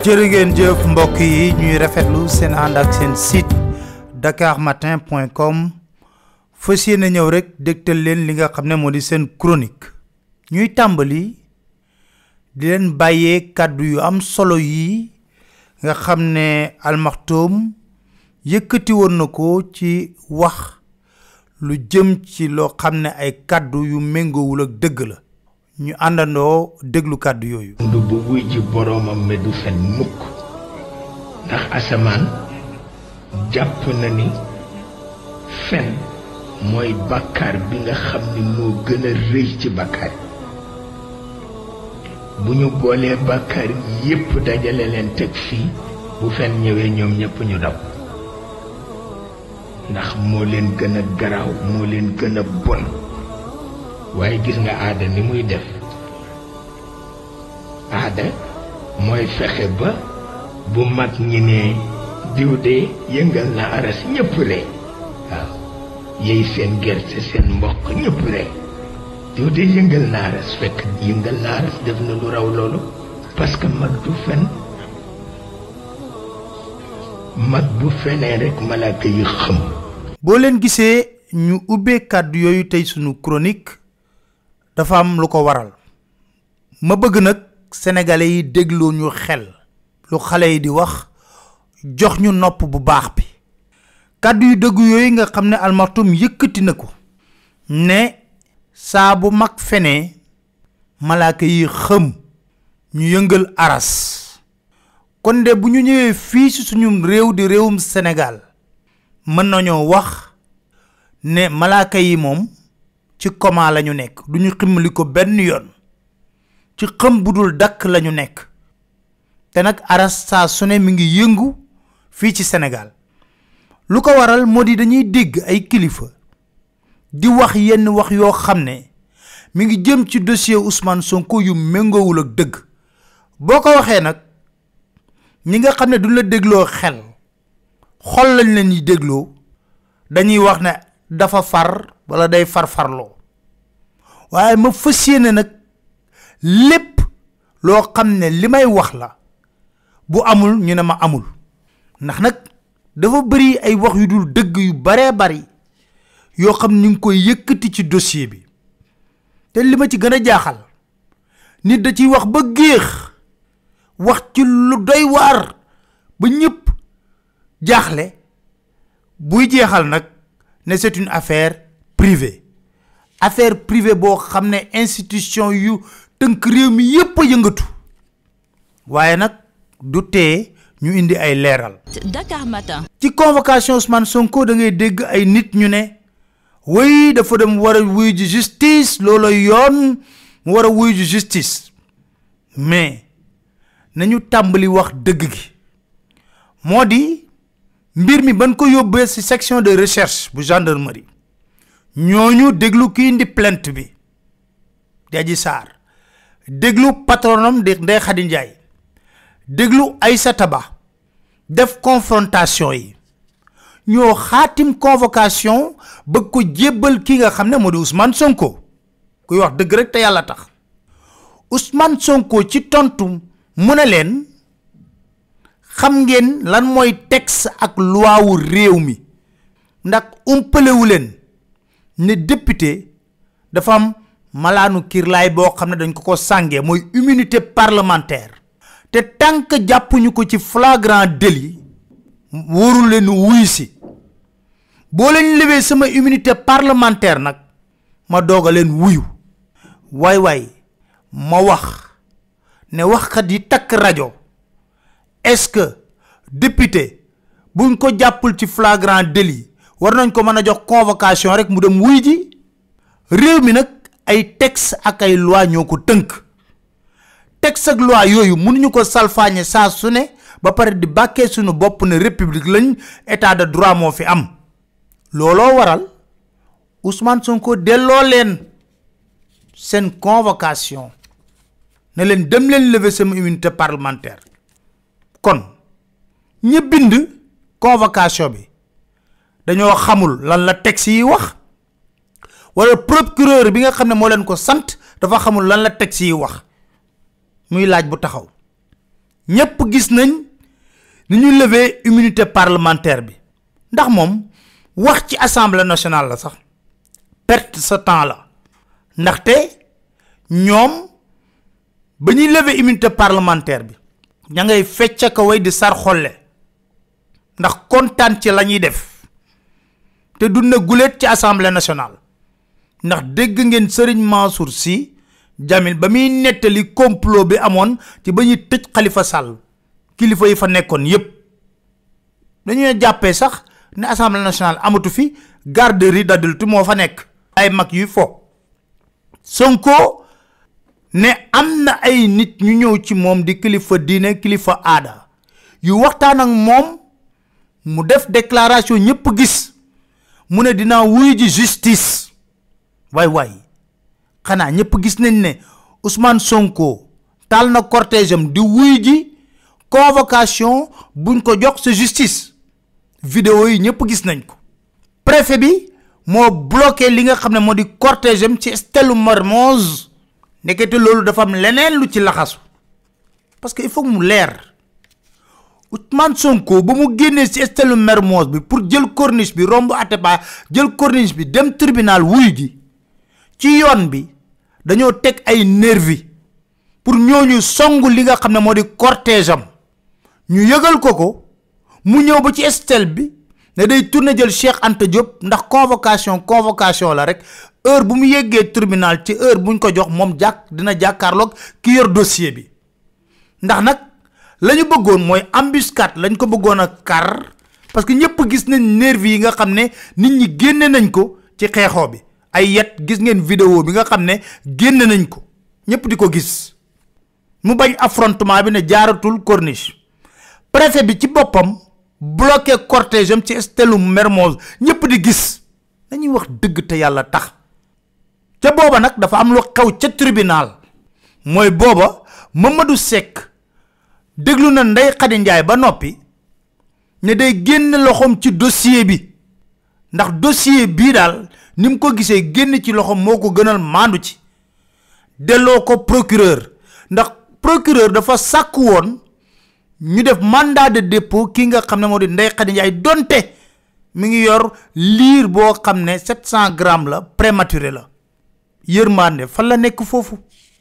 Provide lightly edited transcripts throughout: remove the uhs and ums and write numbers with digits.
jërë ngeen jëf mbokk yi ñuy rafetlu seen ànd ak seen site dakarmatin.com fas yéene ñëw rek dégtal leen li nga xam ne moo di seen chronique ñuy tàmbali di leen bàyyee kàddu yu am solo yi nga xam ne Al Maktoum yëkkati woon na ko ci wax lu jëm ci loo xam ne ay kàddu yu méngoowul ak dëgg la ñu àndandoo déglu kàddu yooyu. du bu wuy ji boroomam me du fen mukk ndax asamaan jàpp na ni fen mooy bàkkaar bi nga xam ni moo gën a rëy ci bàkkaar bu ñu boolee bàkkaar yépp dajale leen teg fii bu fen ñëwee ñoom ñépp ñu daw ndax moo leen gën a garaaw moo leen gën a bon waaye gis nga aada ni muy def aada mooy fexe ba bu mag ñi ne diw de yëngal na aras ñëpp ree waaw yey seen gerte seen mboq ñëpp ree diw de yëngal na aras fekk yëngal na aras def na lu raw loolu parce que mag du fen mag bu fenee rek malaaka yi xam. boo leen gisee ñu ubbee kàddu yooyu tey sunu chronique dafa am lu ko waral ma bëgg nag sénégalais yi dégloo ñu xel lu xale yi di wax jox ñu nopp bu baax bi kàddu yu dëgg yooyu nga xam ne Al Maktoum yëkkati na ko ne saa bu mag fenee malaaka yi xëm ñu yëngal aras kon de bu ñu ñëwee fii ci suñu réew di réewum Sénégal mën nañoo wax ne malaaka yi moom ci coma lañu nekk duñu ximmali ko benn yoon ci xam budul dakk lañu nekk te nag aras saa su ne mi ngi yëngu fii ci Sénégal lu ko waral moo di dañuy dégg ay kilifa di wax yenn wax yoo xam ne mi ngi jëm ci dossier Ousmane Sonko yu méngoowul ak dëgg boo ko waxee nag ñi nga xam ne duñ la dégloo xel xol lañ leen yi dégloo dañuy wax ne dafa far wala day farfarloo waaye ma fas yéene nag lépp loo xam ne li may wax la bu amul ñu ne ma amul ndax nag dafa bëri ay wax yu dul dëgg yu baree bari yoo xam ni ngi koy yëkkati ci dossier bi te li ma ci gën a jaaxal nit da ciy wax ba géex wax ci lu doy waar ba ñëpp jaaxle buy jeexal nag ne c'est une affaire privée boo xam ne institution yu tënk réew mi yépp a yëngatu waaye nag du tee ñu indi ay leeral. Dakar Matin. ci convocation Ousmane Sonko da ngay dégg ay nit ñu ne way dafa dem war a wuyu ji justice loolu yoon mu war a wuyu ji justice mais nañu tàmbali wax dëgg gi moo di mbir mi ban ko yóbbee ci section de recherche bu gendarmerie ñooñu déglu ki indi plainte bi di Adji Sarr déglu patronam de Ndeye Khady Ndiaye déglu Aïssata Ba def confrontation yi ñoo xaatim convocation bëgg ko jébbal ki nga xam ne moo di Ousmane Sonko kuy wax dëgg rek te yàlla tax Ousmane Sonko ci tontu mu ne leen xam ngeen lan mooy texte ak loi wu réew mi ndax umpalewu leen ne député dafa am malaanu kirlaay boo xam ne dañ ko sàngee mooy immunité parlementaire te tant que jàppuñu ko ci flagrant délit wóorul leen wuy si boo leen lewee sama immunité parlementaire nag ma doog a leen wuyu waay ma wax ne waxkat yi takk rajo est-ce que député buñ ko jàppul ci flagrant délit war nañ ko mën a jox convocation rek mu dem wuy ji réew mi nag ay texte ak ay loi ñoo ko tënk texte ak loi yooyu mënuñu ko salfaañe saa su ne ba pare di bàkkee suñu bopp ne république lañ état de droit moo fi am looloo waral Ousmane Sonko delloo leen seen convocation ne leen dem leen lever sama immunité parlementaire kon ñi bind convocation bi dañoo xamul lan la texte yi wax wala procureur bi nga xam ne moo leen ko sant dafa xamul lan la texte yi wax muy laaj bu taxaw ñepp gis nañ ni ñu lever immunité parlementaire bi ndax mom wax ci assemblée nationale la sax perte sa temps la ndaxte ñom bañuy lever immunité parlementaire bi ña ngay fecc ka way di sar xolle ndax kontaan ci lañuy def te du na gulet ci assemblée nationale ndax dégg ngeen Serigne Mansour Sy Jamil ba muy nettali complot bi amoon ci ba ñuy tëj Khalifa Sall kilifa yi fa nekkoon yépp dañuy jàppee sax ne assemblée nationale amatu fi garderie d'adulte moo fa nekk ay mag yu fo Sonko ne am na ay nit ñu ñëw ci moom di kilifa diine kilifa aada yu waxtaan ak moom mu def déclaration ñëpp gis mu ne dinaa wuy ji justice waay xanaa ñëpp gis nañ ne Ousmane Sonko tal na cortège am di wuy ji convocation buñ ko jox sa justice vidéo yi ñëpp gis nañ ko préfet bi moo bloqué li nga xam ne moo di cortège am ci Stèle Mermoz nekkete loolu dafa am leneen lu ci laxasu parce que il faut mu leer Ousmane Sonko ba mu génnee ci Stèle Mermoz bi pour jël corniche bi romb Atepa jël corniche bi dem tribunal wuy ji ci yoon bi dañoo teg ay nervi pour ñooñu songu li nga xam ne moo di cortège am ñu yëgal ko mu ñëw ba ci Stèle bi ne day tourner jël Cheikh Anta Diop ndax convocation la rek heure bu mu yeggee tribunal ci heure buñ ko jox moom dina jàkkaarloog ki yor dossier bi ndax nag lañu bëggoon mooy embuscade lañ ko bëggoon a kar parce que ñëpp gis nañ nervi yi nga xam ne nit ñi génne nañ ko ci xeexoo bi ay yet gis ngeen vidéo bi nga xam ne génne nañ ko ñëpp di ko gis mu bañ affrontement bi ne jaaratul corniche préfet bi ci boppam bloqué cortège am ci Stèle Mermoz ñëpp di gis dañuy wax dëgg te yàlla tax ca booba nag dafa am lu xew ca tribunal mooy booba Mamadou Seck déglu na Ndeye Khady Ndiaye ba noppi ne day génn loxoom ci dossier bi ndax dossier bii daal ni mu ko gisee génn ci loxoom moo ko gënal maandu ci delloo ko procureur ndax procureur dafa sàkk woon ñu def mandat de dépôt ki nga xam ne moo di Ndeye Khady Ndiaye donte mi ngi yor liir boo xam ne 700 grammes la prématuré la yërmande fan la nekk foofu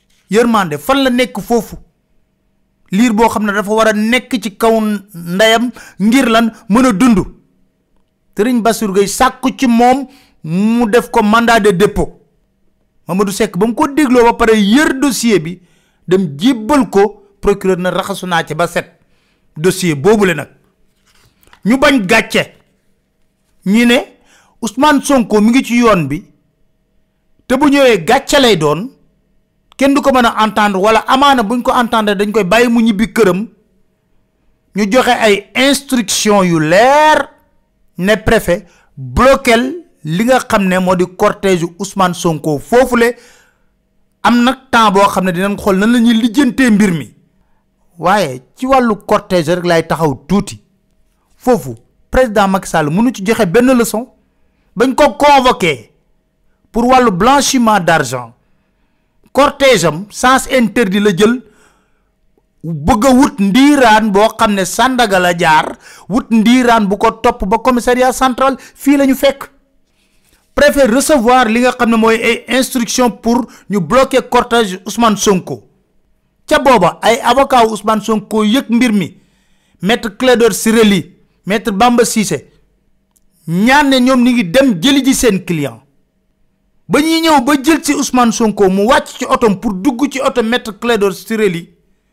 liir boo xam ne dafa war a nekk ci kaw ndeyam ngir lan mën a dund Serigne Bassirou Gueye sàkku ci moom mu def ko mandat de dépôt Mamadou Seck ba mu ko dégloo ba pare yër dossier bi dem jébbal ko procureur na raxasu naa ci ba set dossier boobule nag ñu bañ gàcce ñi ne Ousmane Sonko mi ngi ci yoon bi te bu ñëwee gàcce lay doon kenn du ko mën a entendre wala amaana buñ ko entendre dañ koy bàyyi mu ñibbi këram ñu joxe ay instruction yu leer ne préfet bloquel li nga xam ne moo di cortège Ousmane Sonko foofule am nag temps boo xam ne dinañ xool nan la ñuy lijjantee mbir mi waaye ci wàllu cortège rek lay taxaw tuuti foofu président Macky Sall mënu ci joxe benn leçon bañ ko convoqué pour wàllu blanchiment d'argent cortège am sens interdit la jël bëgg a wut ndiiraan boo xam ne Sandaga la jaar wut ndiiraan bu ko topp ba commissariat central fii la ñu fekk préfet recevoir li nga xam ne mooy ay instruction pour ñu bloquer cortège Ousmane Sonko ca booba ay avocat Ousmane Sonko yëg mbir mi maître Clédor Ciré Ly maître Bamba Cissé ñaan ne ñoom ni ngi dem jëli ji seen client ba ñuy ñëw ba jël ci Ousmane Sonko mu wàcc ci otom pour dugg ci oto maître Clédor Ciré Ly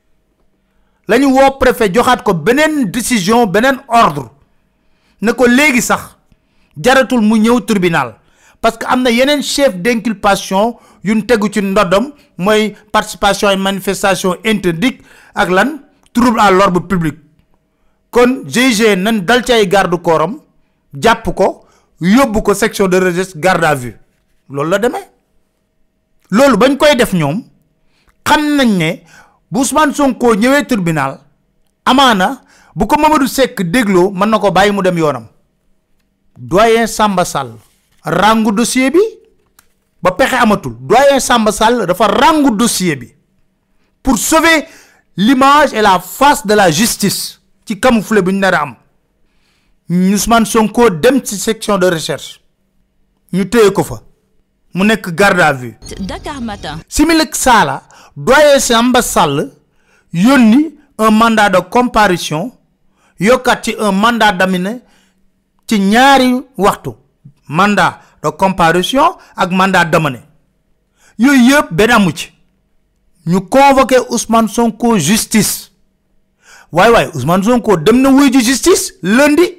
lañu woo préfet joxaat ko beneen décision beneen ordre ne ko léegi sax jaratul mu ñëw tribunal parce que am na yeneen chef d'inculpation yuñ tegu ci ndodom mooy participation à manifestation interdite ak lan trouble à l'ordre public kon GIGN nan dal ci ay garde corps am jàpp ko yóbbu ko section de recherche garde à vue loolu la demee loolu bañ koy def ñoom xam nañ ne bu Ousmane Sonko ñëwee tribunal amaana bu ko Mamadou Seck dégloo mën na ko bàyyi mu dem yoonam doyen Samba Sall rangu dossier bi ba pexe amatul doyen Samba Sall dafa rangu dossier bi pour sauver l'image et la face de la justice ci camouflé bu ñu nar a am Ousmane Sonko dem ci section de recherche ñu téye ko fa mu nekk garde à vue. Dakar Matin. Similik Sala doyen Samba Sall yónni un mandat de comparution yokkat ci un mandat d'amener ci ñaari waxtu mandat de comparution ak mandat d'amener yooyu yëpp benn amu ci ñu convoqué Ousmane Sonko justice waay Ousmane Sonko dem na wuy ji justice lundi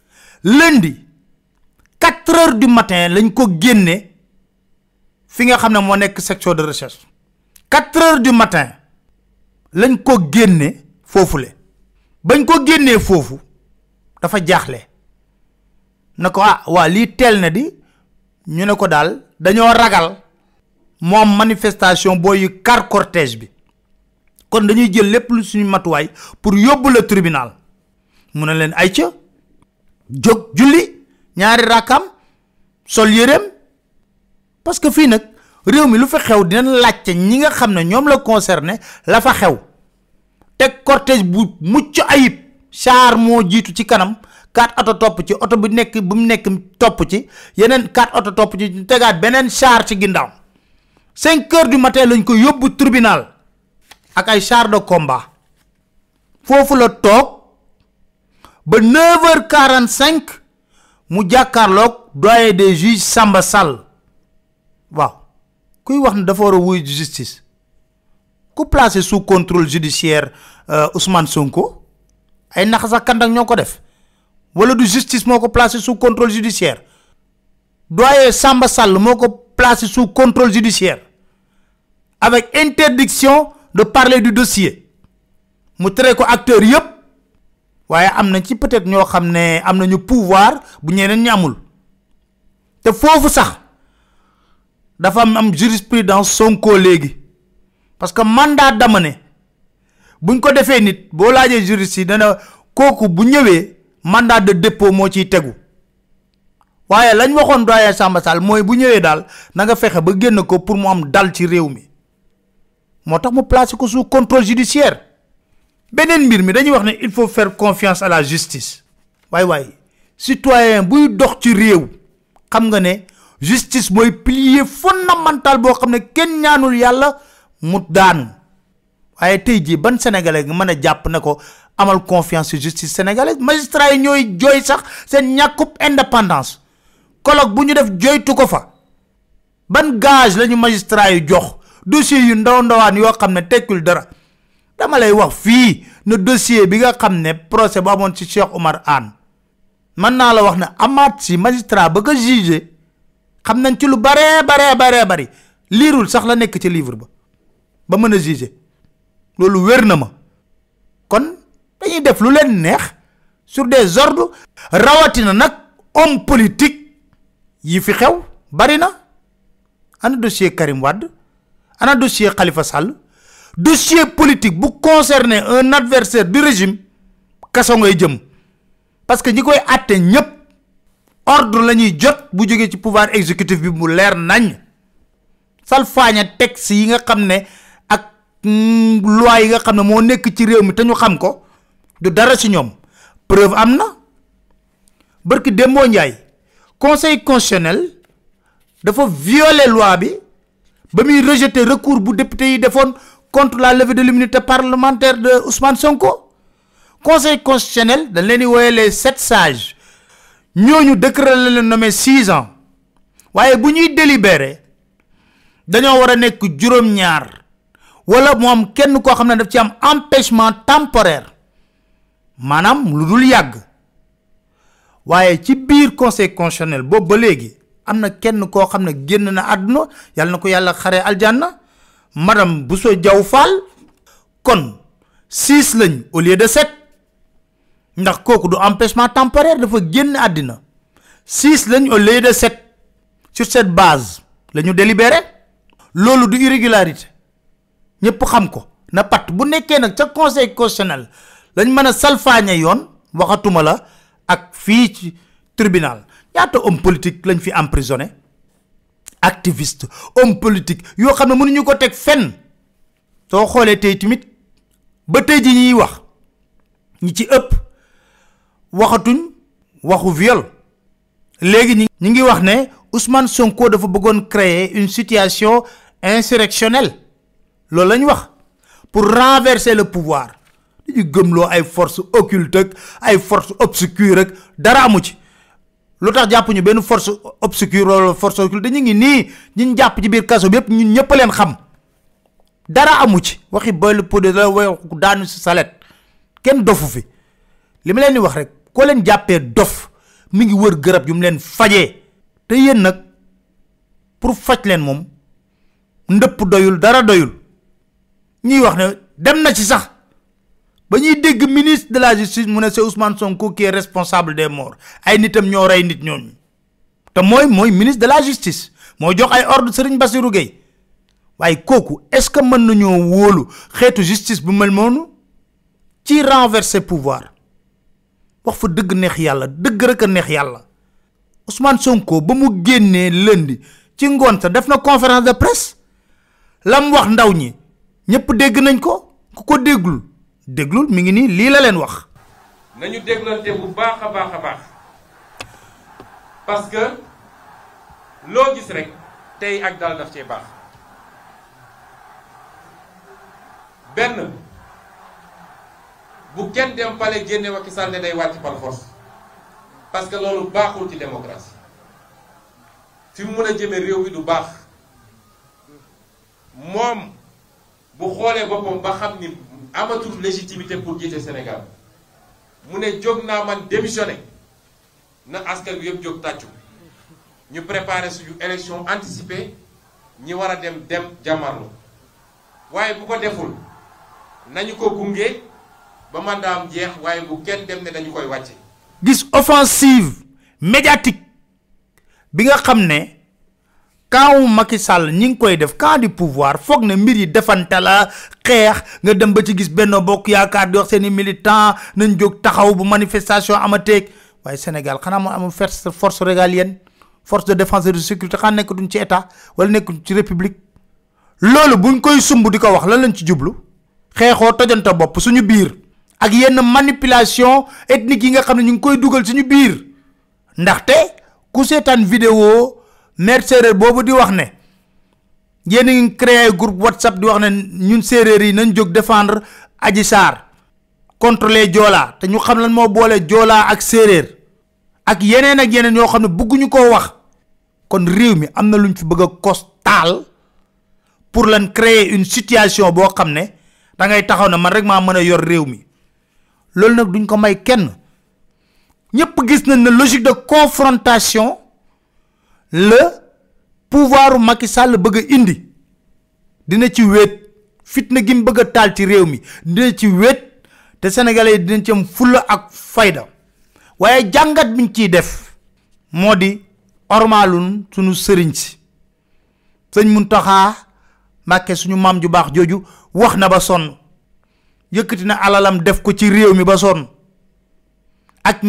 4h du matin lañ ko génne fi nga xam ne moo nekk section de recherche 4h du matin lañ ko génne foofule bañ ko génnee foofu dafa jaaxle na ko waa lii teel na di ñu ne ko daal dañoo ragal moom manifestation booy car cortège bi kon dañuy jël lépp lu suñu matuwaay pour yóbbu le tribunal mu ne leen ay ca jóg julli ñaari rakam sol yéreem parce que fii nag réew mi lu fa xew dinañ laajte ñi nga xam ne ñoom la concerné la fa xew teg cortège bu mucc ayib char moo jiitu ci kanam 4 auto topp ci auto bu mu nekk topp ci yeneen 4 auto topp ci ñu tegaat beneen char ci ginnaaw 5h du matin lañ ko yóbbu tribunal ak ay char de combat foofu la toog ba 9h45 mu jàkkaarloog doyen des juges Samba Sall waaw kuy wax ne dafa war a wuy justice ku placé sous contrôle judiciaire Ousmane Sonko ay nax sax kandak ñoo ko def wala du justice moo ko placé sous contrôle judiciaire doyen Samba Sall moo ko placé sous contrôle judiciaire avec interdiction de parler du dossier mu tere ko acteur yépp waaye am na ci peut-être ñoo xam ne am nañu pouvoir bu ñeneen ñi amul te foofu sax dafa am jurisprudence Sonko léegi parce que mandat d'amener buñ ko defee nit boo laajee juriste yi dana kooku bu ñëwee mandat de dépôt moo ciy tegu waaye lañ waxoon doyen Samba Sall mooy bu ñëwee daal na nga fexe ba génn ko pour mu am dal ci réew mi moo tax mu placé ko sous contrôle judiciaire beneen mbir mi dañuy wax ne il faut faire confiance à la justice waay citoyen buy dox ci réew xam nga ne justice mooy pilier fondamental boo xam ne kenn ñaanul yàlla mu daan waaye tey jii ban sénégalais nga mën a jàpp ne ko amal confiance ci justice sénégalaise magistrat yi ñooy jooy sax seen ñàkkub indépendance colloque bu ñu def jooytu ko fa ban gage lañu magistrat yi jox dossier yu ndawaan yoo xam ne tekkul dara dama lay wax fii ne dossier bi nga xam ne procès bu amoon ci Cheikh Oumar Anne mën naa la wax ne amaat si magistrat ba ko jugé xam nañ ci lu bari liirul sax la nekk ci livre ba mën a jugé loolu wér na ma kon dañuy def lu leen neex sur des ordres rawatina nag homme politique yi fi xew bari na ana dossier Karim Wade ana dossier Khalifa Sall dossier politique bu concerner un adversaire du régime kaso ngay jëm parce que ñi koy àtte ñépp ordre la ñuy jot bu jógee ci pouvoir exécutif bi mu leer nañ salfaaña texte yi nga xam ne ak loi yi nga xam ne moo nekk ci réew mi te ñu xam ko du dara ci ñoom preuve am na barki Dembo Ndiaye conseil constitutionnel dafa violer loi bi ba muy rejeter recours bu député yi defoon contre la levée de l'immunité parlementaire de Ousmane Sonko conseil constitutionnel dañ leen di wooye les 7 sages ñooñu décret la leen nommé 6 ans waaye bu ñuy délibérer dañoo war a nekk juróom-ñaar wala mu am kenn koo xam ne daf ci am empêchement temporaire maanaam lu dul yàgg waaye ci biir conseil constitutionnel boobu ba léegi am na kenn koo xam ne génn na àdduna yàlla na ko yàlla xaree aljanna madame Bousso Diaw Fall kon 6 lañ au lieu de 7 ndax kooku du empêchement temporaire dafa génn àddina 6 lañ au lieu de 7 sur cette base la ñu délibéré loolu du irrégularité ñëpp xam ko na pat bu nekkee nag ca conseil constitutionnel lañ mën a salfaañe yoon waxatuma la ak fii ci tribunal ñaata homme politique lañ fi emprisonné activiste homme politique yoo xam ne mënuñu ko teg fenn soo xoolee tey tamit ba tey ji ñi wax ñi ci ëpp waxatuñ waxu viol légui ñi ngi wax né Ousmane Sonko dafa bëggoon créer une situation insurrectionnelle loolu lañ wax pour renverser le pouvoir di gëmloo ay forces occultes ay forces obscures dara amu ci lutax jappu ñu ben force obscure wala force occulte ñi ngi ni ñi japp ci biir kasso bi yépp ñun ñëpp leen xam dara amu ci waxi boy podé la way daanu ci salet ken dofu fi lima leen di wax rek ko leen jappé dof mi ngi wër gërab yu mu leen fajé té yeen nak pour faj leen mom ndëpp doyul dara doyul ñi wax né dem na ci sax ba ñuy dégg ministre de la justice mu né c'est Ousmane Sonko qui est responsable des morts ay nitam ñoo ray nit ñooñu té moy ministre de la justice mo jox ay ordre Serigne Bassirou Gueye waaye kooku est-ce que mën nañoo wóolu xeetu justice bu mel noonu ci renverser pouvoir wax fa dëgg neex yàlla dëgg rek a neex yàlla Ousmane Sonko ba mu génnee lundi ci ngoon sa def na conférence de presse lam wax ndaw ñi ñëpp dégg nañ ko ku ko déglul mi ngi nii lii la leen wax nañu déglante bu baax a baax parce que loo gis rek tey ak dal daf cee baax benn bu kenn dem pale génne Macky Sall ne day wàcc par force parce que loolu baaxul ci démocratie fi mu mën a jëme réew mi du baax moom bu xoolee boppam ba xam ni amatul légitimité pour jiite Sénégal mu ne jóg naa man démissionné na askan bi yëpp jóg tàccu ñu préparer suñu élection anticipée ñi war a dem jàmmarlu waaye bu ko deful nañu ko gunge ba mandaam jeex waaye bu kenn dem ne dañu koy wàcce gis offensive médiatique bi nga xam ne quand Macky Sall ñi ngi koy def quand du pouvoir foog ne mbir yi defante la xeex nga dem ba ci gis Benno Bokk Yaakaar di wax seeni militant nañ jóg taxaw bu manifestation amateeg waaye Sénégal xanaa moo amul force régalienne force de défense et de sécurité xanaa nekkatuñ ci état wala nekkuñ ci république loolu buñ koy sumb di ko wax lan lañ ci jublu xeexoo tojante bopp suñu biir ak yenn manipulation ethnique yi nga xam ne ñu ngi koy dugal suñu biir ndaxte ku seetaan vidéo maire séeréer boobu di wax ne yéen a ngi créé groupe WhatsApp di wax ne ñun séeréer yi nañ jóg défendre Adji Sarr contre les Joola te ñu xam lan moo boole Joola ak séeréer ak yeneen yoo xam ne bëgguñu koo wax kon réew mi am na luñ fi bëgg a costal pour lan créer une situation boo xam ne da ngay taxaw na man rek maa mën a yor réew mi loolu nag duñ ko may kenn ñëpp gis nañ ne logique de confrontation le pouvoir Macky Sall bëgg a indi dina ci wéet fitna gi mu bëgg a taal ci réew mi dina ci wéet te sénégalais dinañ ci am fulla ak fayda waaye jàngat biñ ciy def moo di ormaalun suñu sëriñ si sëñ Muntaxa Mbàkke suñu maam ju baax jooju wax na ba sonn yëkkati na alalam def ko ci réew mi ba sonn ak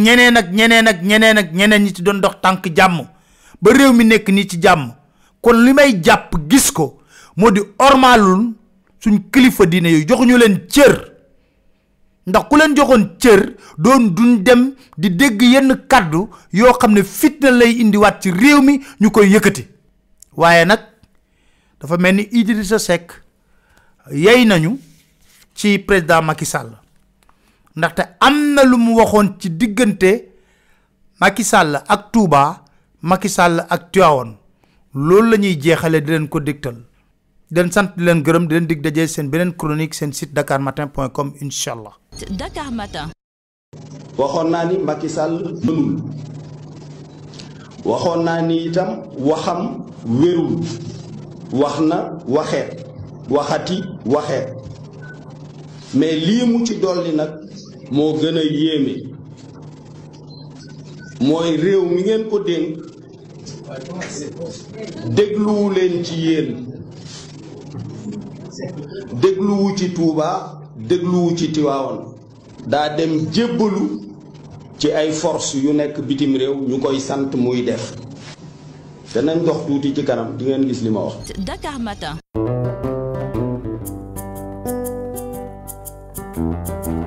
ñeneen ñi ci doon dox tànk jàmm ba réew mi nekk nii ci jàmm kon li may jàpp gis ko moo di ormaalun suñ kilifa diine yooyu joxuñu leen cër ndax ku leen joxoon cër duñ dem di dégg yenn kàddu yoo xam ne fitna lay indiwaat ci réew mi ñu koy yëkkati waaye nag dafa mel ni Idrissa Seck yey nañu ci président Macky Sall ndaxte am na lu mu waxoon ci diggante Macky Sall ak Touba Macky Sall ak Tivaouane loolu la ñuy jeexale di leen ko dégtal di leen sant di leen gërëm di leen dig dajee seen beneen chronique seen site dakarmatin.com inshallah. Dakar Matin. waxoon naa ni Macky Sall mënul waxoon naa ni itam waxam wérul wax na waxeet waxati waxeet mais lii mu ci dolli nag moo gën a yéeme mooy réew mi ngeen ko dénk dégluwu leen ci yéen dégluwu ci Touba dégluwu ci Tivaouane daa dem jébbalu ci ay force yu nekk bitim réew ñu koy sant muy def te nañ dox tuuti ci kanam di ngeen gis li ma wax. Dakar Matin. Thank you.